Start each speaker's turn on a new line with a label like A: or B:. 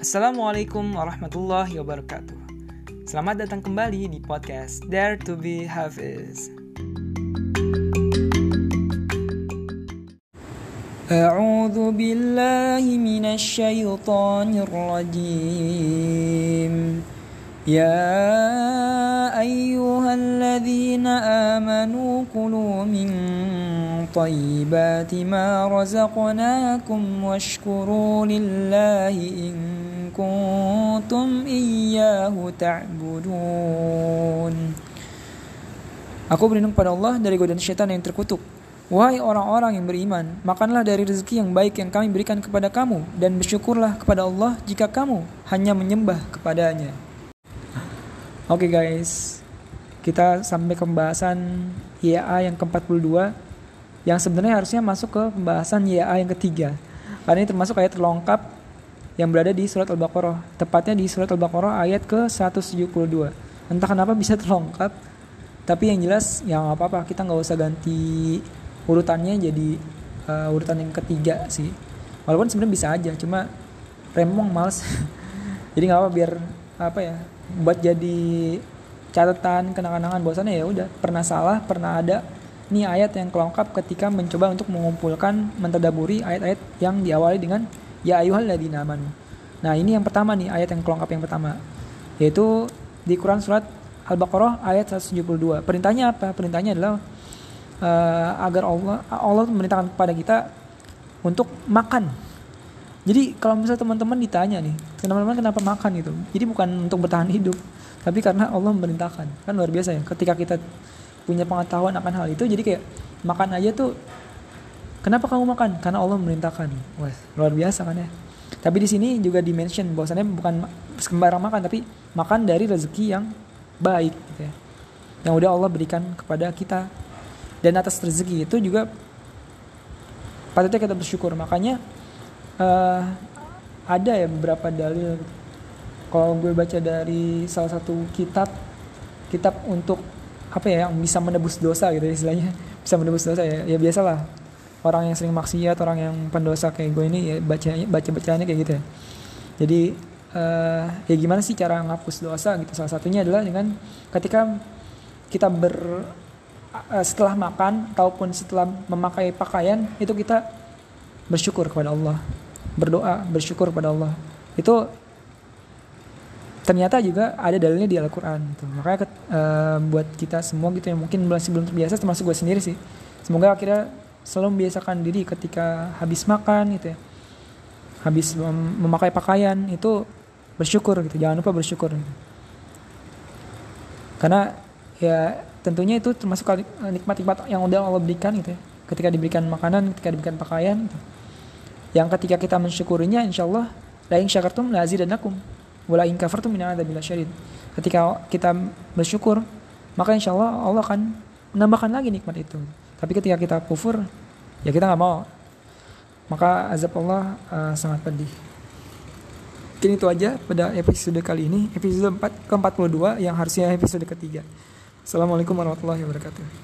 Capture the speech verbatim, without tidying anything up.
A: Assalamualaikum warahmatullahi wabarakatuh. Selamat datang kembali di podcast Dare to be Hafiz. A'udzu billahi minasy syaithanir rajim. Ya ayyuhalladzina amanu kulu min thayyibati ma razaqnakum washkuru lillahi in kuntum iyyahu ta'budun. Aku berlindung pada Allah dari godaan syaitan yang terkutuk. Wahai orang-orang yang beriman, makanlah dari rezeki yang baik yang kami berikan kepada kamu dan bersyukurlah kepada Allah jika kamu hanya menyembah kepadanya. Oke okay guys, kita sampai ke pembahasan Y A yang ke empat puluh dua yang sebenarnya harusnya masuk ke pembahasan Y A yang ketiga. Karena ini termasuk ayat terlengkap yang berada di surat Al-Baqarah, tepatnya di surat Al-Baqarah ayat ke seratus tujuh puluh dua. Entah kenapa bisa terlengkap, tapi yang jelas ya nggak apa-apa, kita nggak usah ganti urutannya jadi uh, urutan yang ketiga sih. Walaupun sebenarnya bisa aja, cuma rempong males. Jadi nggak apa, biar apa ya, buat jadi catatan kenang-kenangan bahwasannya ya udah pernah salah, pernah ada. Ini ayat yang kelengkap ketika mencoba untuk mengumpulkan, mentadaburi ayat-ayat yang diawali dengan ya ayyuhalladzina amanu. Nah, ini yang pertama nih, ayat yang kelengkap yang pertama, yaitu di Quran surat Al-Baqarah ayat seratus tujuh puluh dua. Perintahnya apa? Perintahnya adalah uh, agar Allah Allah memerintahkan kepada kita untuk makan. Jadi kalau misalnya teman-teman ditanya nih, teman-teman kenapa makan gitu? Jadi bukan untuk bertahan hidup, tapi karena Allah memerintahkan. Kan luar biasa ya, ketika kita punya pengetahuan akan hal itu, jadi kayak makan aja tuh, kenapa kamu makan? Karena Allah memerintahkan. Wah, luar biasa kan ya. Tapi di sini juga di-mention bahwasannya bukan sembarang makan, tapi makan dari rezeki yang baik gitu ya, yang udah Allah berikan kepada kita. Dan atas rezeki itu juga patutnya kita bersyukur. Makanya Uh, ada ya beberapa dalil. Kalau gue baca dari salah satu kitab kitab untuk apa ya, yang bisa menebus dosa gitu ya, istilahnya bisa menebus dosa ya. Ya biasalah orang yang sering maksiat, orang yang pendosa kayak gue ini ya baca baca bacaannya kayak gitu ya. Jadi uh, ya gimana sih cara ngapus dosa gitu? Salah satunya adalah dengan ketika kita ber uh, setelah makan ataupun setelah memakai pakaian itu kita bersyukur kepada Allah, berdoa, bersyukur kepada Allah. Itu ternyata juga ada dalilnya di Al-Quran gitu. Makanya uh, buat kita semua gitu yang mungkin masih belum terbiasa, termasuk gue sendiri sih, semoga akhirnya selalu membiasakan diri ketika habis makan gitu ya, habis mem- memakai pakaian itu bersyukur gitu. Jangan lupa bersyukur gitu. Karena ya tentunya itu termasuk nikmat-nikmat yang udah Allah berikan gitu ya, ketika diberikan makanan, ketika diberikan pakaian gitu. Yang ketika kita mensyukurinya, insyaallah la in syakartum la azidannakum wa la in kafartum min adzabil syadid. Ketika kita bersyukur, maka insyaallah Allah akan menambahkan lagi nikmat itu. Tapi ketika kita kufur, ya kita enggak mau. Maka azab Allah uh, sangat pedih. Mungkin itu aja pada episode kali ini, episode empat ke empat puluh dua yang harusnya episode ketiga. Assalamualaikum warahmatullahi wabarakatuh.